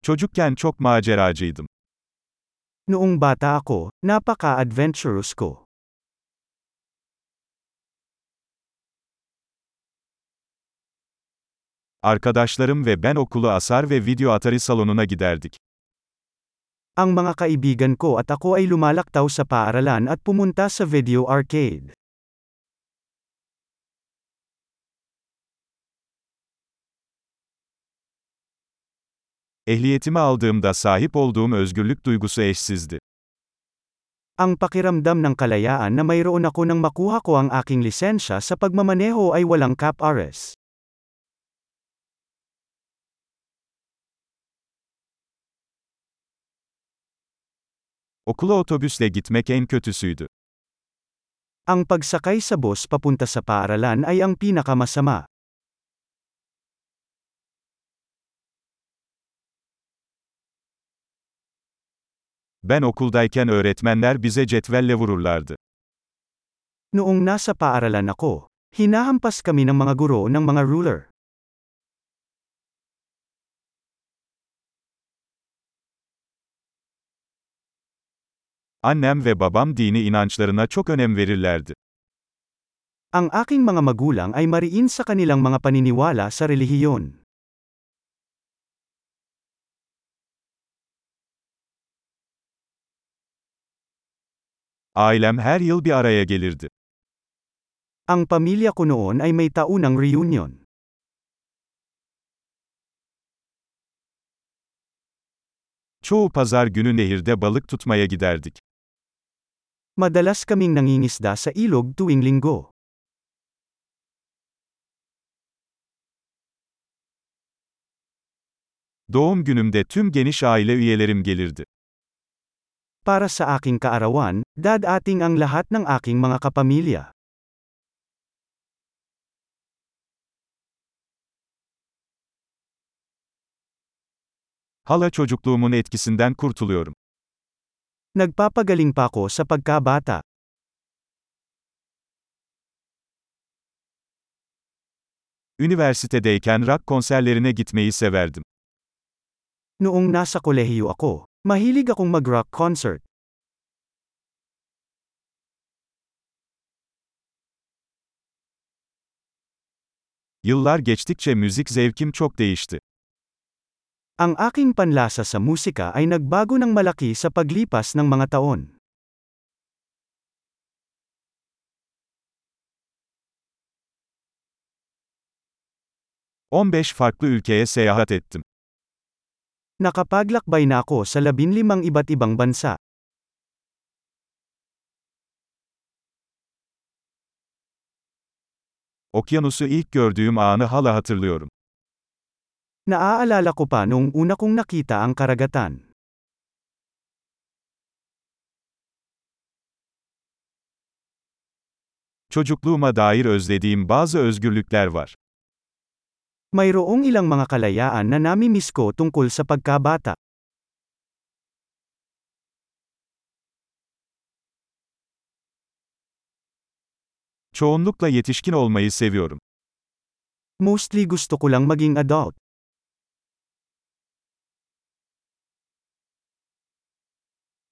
Çocukken çok maceracıydım. Noong bata ako, napaka-adventurous ko. Arkadaşlarım ve ben okulu asar ve video Atari salonuna giderdik. Ang mga kaibigan ko at ako ay lumalaktaw sa paaralan at pumunta sa video arcade. Ehliyetimi aldığımda sahip olduğum özgürlük duygusu eşsizdi. Ang pakiramdam ng kalayaan na mayroon ako nang makuha ko ang aking lisensya sa pagmamaneho ay walang cap-ares. Okula otobüsle gitmek en kötüsüydü. Ang pagsakay sa bus papunta sa paaralan ay ang pinakamasama. Ben okuldayken öğretmenler bize cetvelle vururlardı. Noong nasa paaralan ako, hinahampas kami ng mga guro ng mga ruler. Annem ve babam dini inançlarına çok önem verirlerdi. Ang aking mga magulang ay mariin sa kanilang mga paniniwala sa relihiyon. Ailem her yıl bir araya gelirdi. Ang pamilya ko noon ay may taunang reunion. Çoğu pazar günü nehirde balık tutmaya giderdik. Madalas kaming nangingisda sa ilog tuwing linggo. Doğum günümde tüm geniş aile üyelerim gelirdi. Para sa aking kaarawan, dadating ang lahat ng aking mga kapamilya. Hala çocukluğumun etkisinden kurtuluyorum. Nagpapagaling pa ako sa pagkabata. Üniversitedeyken rock konserlerine gitmeyi severdim. Noong nasa kolehiyo ako, mahilig akong mag-rock concert. Yıllar geçtikçe müzik zevkim çok değişti. Ang aking panlasa sa musika ay nagbago ng malaki sa paglipas ng mga taon. 15 farklı ülkeye seyahat ettim. Nakapaglakbay na ako sa 15 iba't ibang bansa. Okyanusu ilk gördüğüm anı hala hatırlıyorum. Naaalala ko pa noong una kong nakita ang karagatan. Çocukluğuma dair özlediğim bazı özgürlükler var. Mayroong ilang mga kalayaan na nami-miss ko tungkol sa pagkabata. Çoğunlukla yetişkin olmayı seviyorum. Mostly gusto ko lang maging adult.